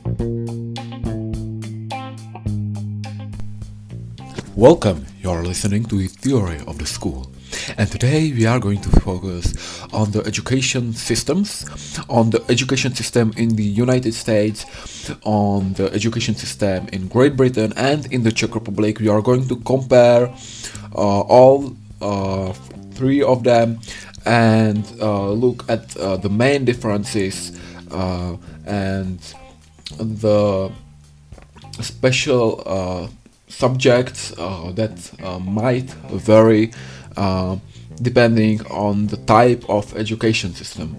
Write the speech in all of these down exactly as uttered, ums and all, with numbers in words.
Welcome, you're listening to the Theory of the School. And today we are going to focus on the education systems, on the education system in the United States, on the education system in Great Britain and in the Czech Republic. We are going to compare uh, all uh, three of them and uh, look at uh, the main differences uh, and the special uh, subjects uh, that uh, might vary uh, depending on the type of education system.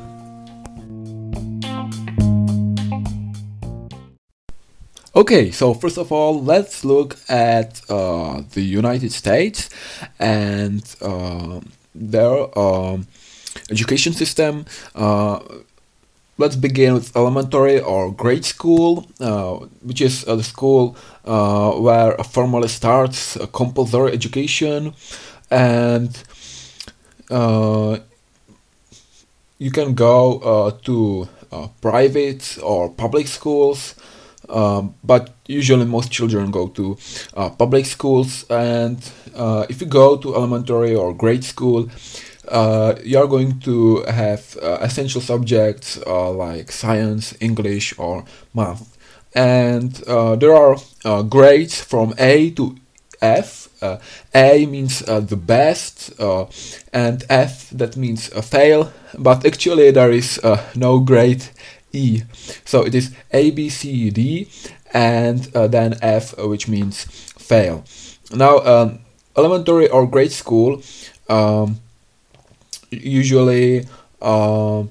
Okay, so first of all, let's look at uh, the United States and uh, their um, education system. Uh, Let's begin with elementary or grade school, uh, which is uh, the school uh, where formally starts a compulsory education, and uh, you can go uh, to uh, private or public schools, um, but usually most children go to uh, public schools. And uh, if you go to elementary or grade school, Uh, you're going to have uh, essential subjects uh, like science, English, or math. And uh, there are uh, grades from A to F. Uh, A means uh, the best, uh, and F, that means uh, fail. But actually there is uh, no grade E. So it is A, B, C, D, and uh, then F, uh, which means fail. Now, um, elementary or grade school um, usually uh,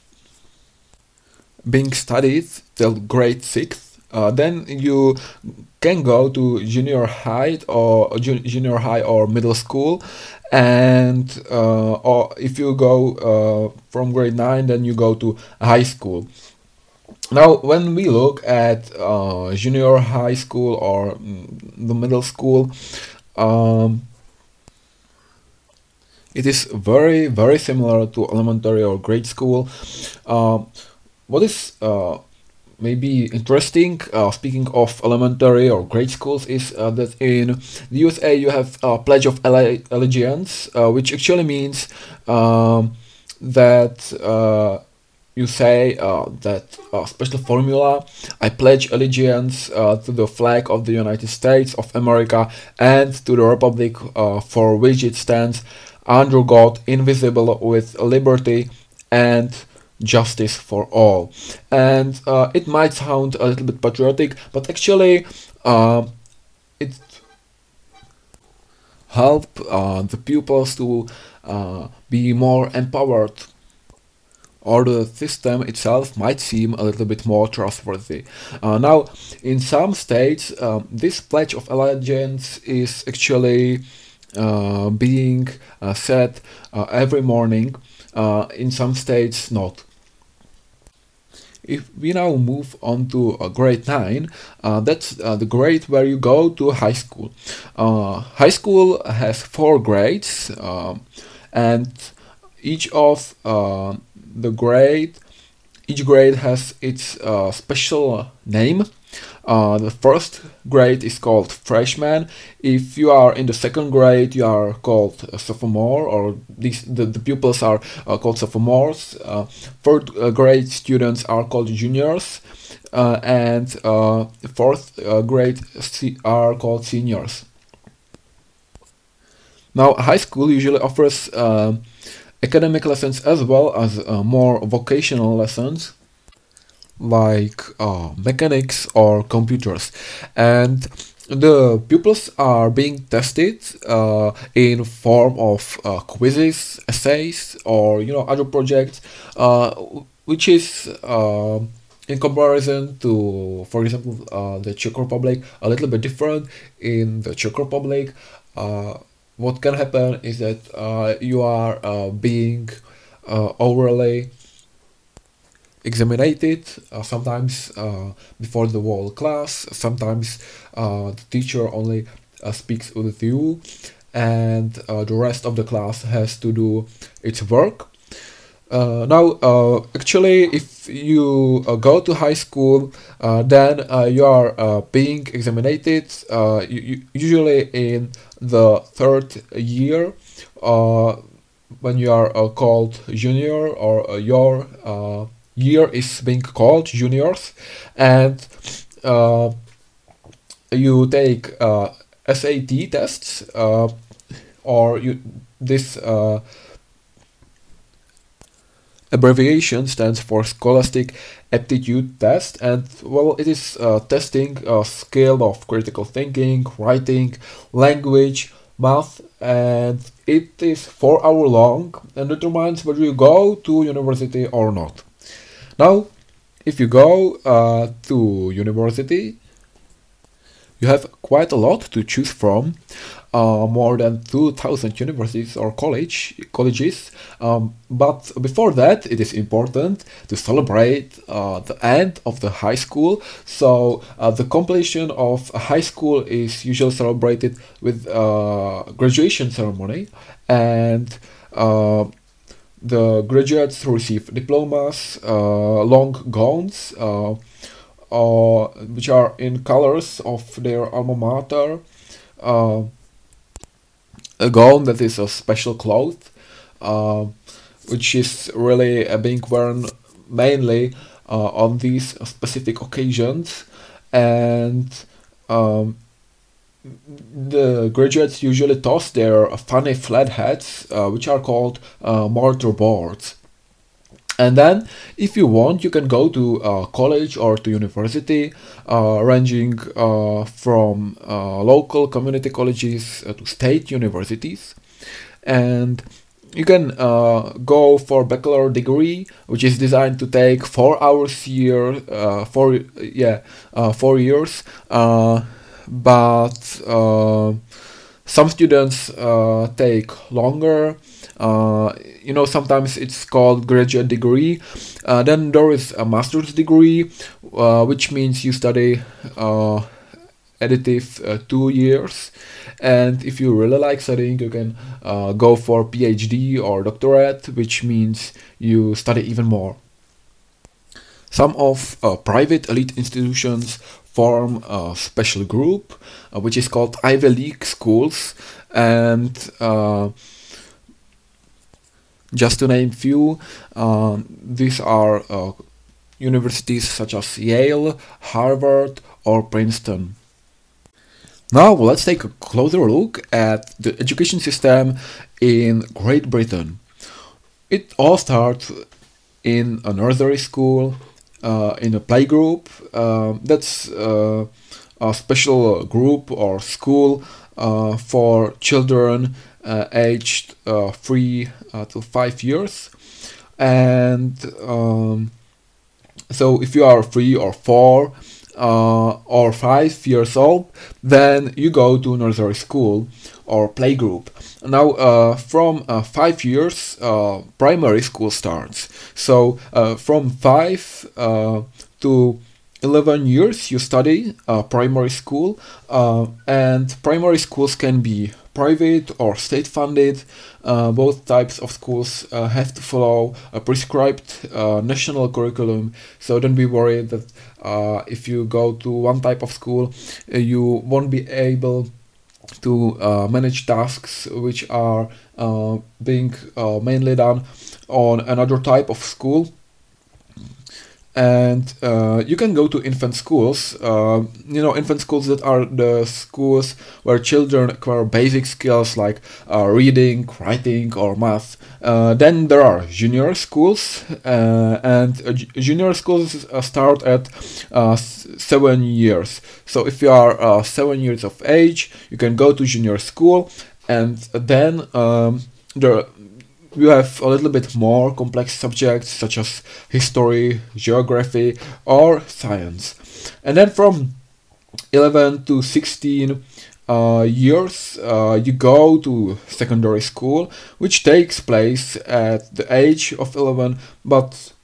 being studied till grade sixth. Uh, then you can go to junior high or junior high or middle school, and uh, or if you go uh, from grade nine, then you go to high school. Now, when we look at uh, junior high school or mm, the middle school, um, it is very, very similar to elementary or grade school. Uh, what is uh, maybe interesting, uh, speaking of elementary or grade schools, is uh, that in the U S A you have a Pledge of Alle- Allegiance, uh, which actually means um, that uh, you say uh, that uh, special formula, I pledge allegiance uh, to the flag of the United States of America and to the republic uh, for which it stands, under God, invisible, with liberty and justice for all. And uh, it might sound a little bit patriotic, but actually uh, it help uh, the pupils to uh, be more empowered, or the system itself might seem a little bit more trustworthy. Uh, now, in some states, um, this Pledge of Allegiance is actually Uh, being uh, said uh, every morning. Uh, in some states, not. If we now move on to uh, grade nine, uh, that's uh, the grade where you go to high school. Uh, high school has four grades, uh, and each of uh, the grade, each grade has its uh, special name. Uh, the first grade is called freshman. If you are in the second grade, you are called a sophomore, or these the, the pupils are uh, called sophomores. Uh, third uh, grade students are called juniors, uh, and uh, fourth uh, grade se- are called seniors. Now, high school usually offers uh, academic lessons as well as uh, more vocational lessons, like uh, mechanics or computers, and the pupils are being tested uh, in form of uh, quizzes, essays, or you know other projects, uh, which is uh, in comparison to, for example, uh, the Czech Republic, a little bit different. In the Czech Republic, uh, what can happen is that uh, you are uh, being uh, overly examinated, uh, sometimes uh, before the whole class, sometimes uh, the teacher only uh, speaks with you, and uh, the rest of the class has to do its work. Uh, now, uh, actually, if you uh, go to high school, uh, then uh, you are uh, being examined, uh, you, you- usually in the third year, uh, when you are uh, called junior, or uh, your uh, year is being called juniors, and uh, you take uh, S A T tests, uh, or you this uh, abbreviation stands for Scholastic Aptitude Test, and well, it is uh, testing a skill of critical thinking, writing, language, math, and it is four hour long and determines whether you go to university or not. Now, if you go uh, to university, you have quite a lot to choose from, uh, more than two thousand universities or college colleges. Um, but before that, it is important to celebrate uh, the end of the high school. So uh, the completion of a high school is usually celebrated with uh, graduation ceremony, and uh, the graduates receive diplomas, uh, long gowns, uh, uh, which are in colors of their alma mater, uh, a gown that is a special cloth, uh, which is really uh, being worn mainly uh, on these specific occasions, and um, the graduates usually toss their funny flat hats, uh, which are called uh, mortar boards. And then, if you want, you can go to uh, college or to university, uh, ranging uh, from uh, local community colleges uh, to state universities. And you can uh, go for bachelor degree, which is designed to take four hours year, uh, four yeah, uh, four years. Uh, but uh, some students uh, take longer. Uh, you know, sometimes it's called graduate degree. Uh, then there is a master's degree, uh, which means you study uh, additive uh, two years. And if you really like studying, you can uh, go for PhD or doctorate, which means you study even more. Some of uh, private elite institutions form a special group, uh, which is called Ivy League schools, and uh, just to name few, uh, these are uh, universities such as Yale, Harvard, or Princeton. Now let's take a closer look at the education system in Great Britain. It all starts in a nursery school, uh, in a playgroup. Uh, that's uh, a special group or school uh, for children uh, aged uh, three uh, to five years. And um, so if you are three or four uh, or five years old, then you go to nursery school or playgroup. Now, uh, from uh, five years, uh, primary school starts. So uh, from five uh, to eleven years, you study uh, primary school, uh, and primary schools can be private or state funded. Uh, both types of schools uh, have to follow a prescribed uh, national curriculum, so don't be worried that uh, if you go to one type of school, uh, you won't be able to uh, manage tasks which are uh, being uh, mainly done on another type of school. And uh, you can go to infant schools, uh, you know, infant schools that are the schools where children acquire basic skills like uh, reading, writing, or math. Uh, then there are junior schools, uh, and uh, junior schools uh, start at uh, s- seven years. So if you are uh, seven years of age, you can go to junior school, and then um, there you have a little bit more complex subjects such as history, geography, or science. And then from eleven to sixteen uh, years, uh, you go to secondary school, which takes place at the age of eleven, but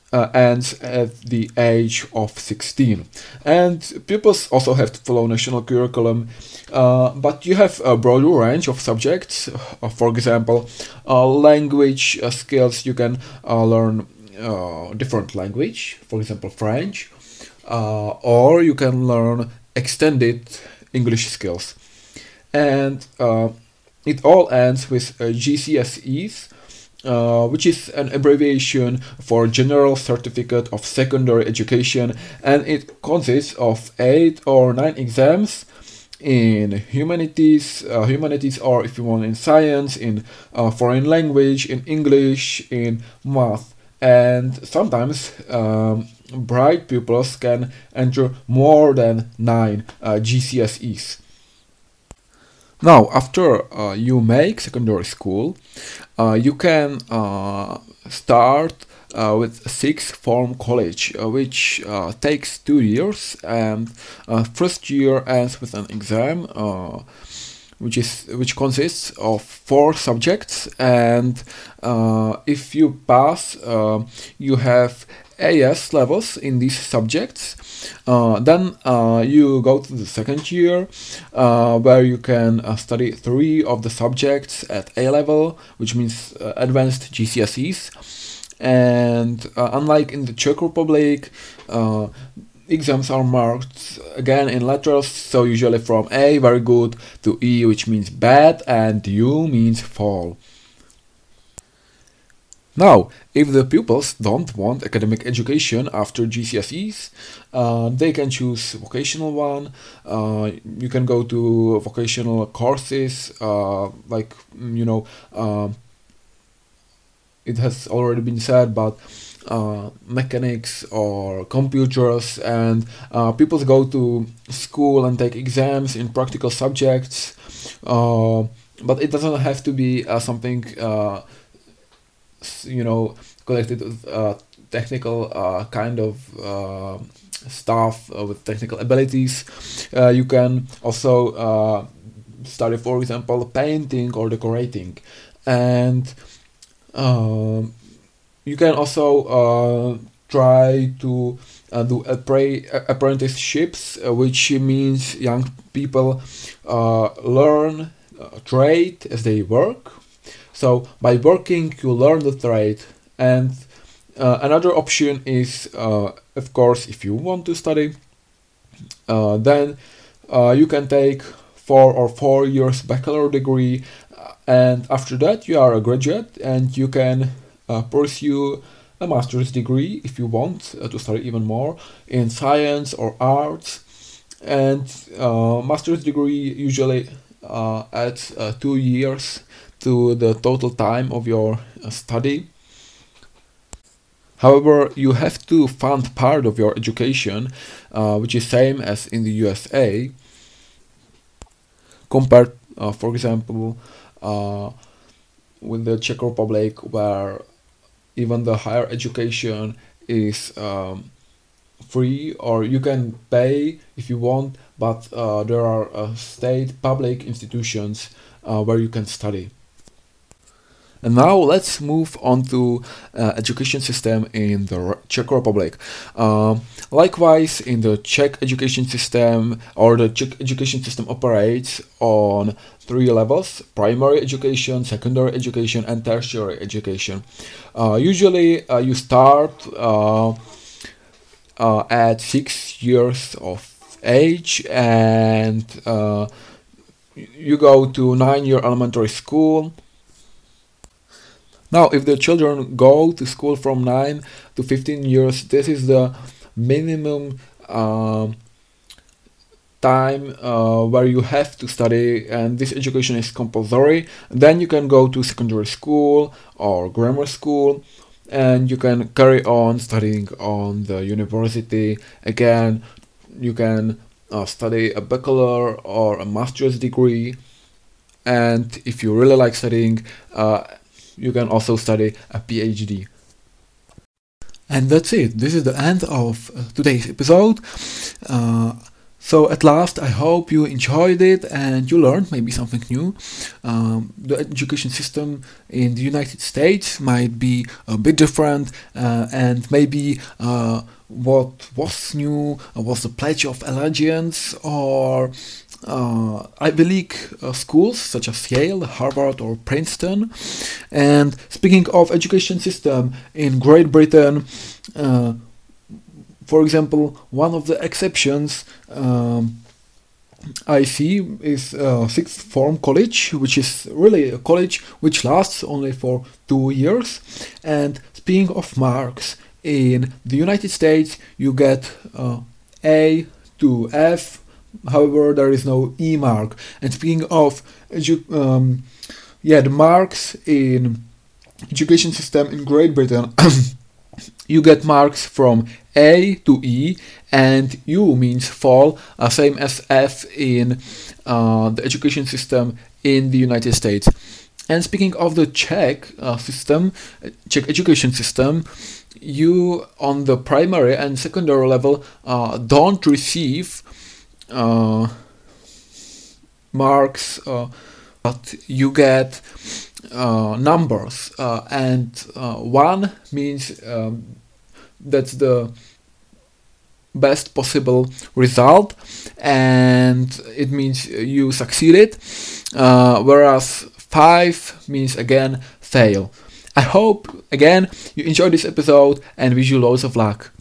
uh, ends at the age of sixteen. And pupils also have to follow national curriculum, uh, but you have a broader range of subjects. Uh, for example, uh, language uh, skills, you can uh, learn uh, different language, for example French, uh, or you can learn extended English skills. And uh, it all ends with uh, G C S Es, uh, which is an abbreviation for General Certificate of Secondary Education, and it consists of eight or nine exams in humanities, uh, humanities, or if you want, in science, in uh, foreign language, in English, in math. And sometimes um, bright pupils can enter more than nine uh, G C S Es. Now, after uh, you make secondary school, uh, you can uh, start uh, with sixth form college, uh, which uh, takes two years, and uh, first year ends with an exam, uh, which is which consists of four subjects, and uh, if you pass, uh, you have A S levels in these subjects. Uh, then uh, you go to the second year, uh, where you can uh, study three of the subjects at A level, which means uh, advanced G C S Es. And uh, unlike in the Czech Republic, uh, exams are marked again in letters, so usually from A, very good, to E, which means bad, and U means fall. Now, if the pupils don't want academic education after G C S Es, uh, they can choose vocational one. Uh, you can go to vocational courses, uh, like, you know, uh, it has already been said, but uh, mechanics or computers, and uh, people go to school and take exams in practical subjects, uh, but it doesn't have to be uh, something uh, you know, connected with uh, technical uh, kind of uh, stuff uh, with technical abilities. Uh, you can also uh, study, for example, painting or decorating, and uh, you can also uh, try to uh, do appre- apprenticeships, uh, which means young people uh, learn uh, trade as they work. So by working, you learn the trade. And uh, another option is, uh, of course, if you want to study, uh, then uh, you can take four or four years bachelor degree, and after that you are a graduate, and you can uh, pursue a master's degree if you want uh, to study even more in science or arts. And uh, master's degree usually uh, adds uh, two years to the total time of your uh, study. However, you have to fund part of your education, uh, which is same as in the U S A, compared, uh, for example, uh, with the Czech Republic, where even the higher education is um, free, or you can pay if you want, but uh, there are uh, state public institutions uh, where you can study. And now let's move on to uh, education system in the Czech Republic. Uh, likewise, in the Czech education system, or the Czech education system operates on three levels: primary education, secondary education, and tertiary education. Uh, usually, uh, you start uh, uh, at six years of age, and uh, you go to nine-year elementary school. Now, if the children go to school from nine to fifteen years, this is the minimum uh, time uh, where you have to study, and this education is compulsory. Then you can go to secondary school or grammar school, and you can carry on studying on the university. Again, you can uh, study a bachelor or a master's degree, and if you really like studying, uh, you can also study a PhD. And that's it. This is the end of uh, today's episode. Uh, So at last, I hope you enjoyed it and you learned maybe something new. Um, the education system in the United States might be a bit different, uh, and maybe uh, what was new uh, was the Pledge of Allegiance or uh, Ivy League uh, schools such as Yale, Harvard, or Princeton. And speaking of education system in Great Britain, uh, for example, one of the exceptions um, I see is uh, sixth form college, which is really a college which lasts only for two years. And speaking of marks, in the United States you get uh, A to F, however there is no E mark. And speaking of edu- um, yeah, the marks in education system in Great Britain, you get marks from A to E, and U means fall, uh, same as F in uh, the education system in the United States. And speaking of the Czech uh, system, Czech education system, you on the primary and secondary level uh, don't receive uh, marks, uh, but you get uh, numbers, uh, and uh, one means um, that's the best possible result, and it means you succeeded, uh, whereas five means again fail. I hope again you enjoyed this episode and wish you loads of luck.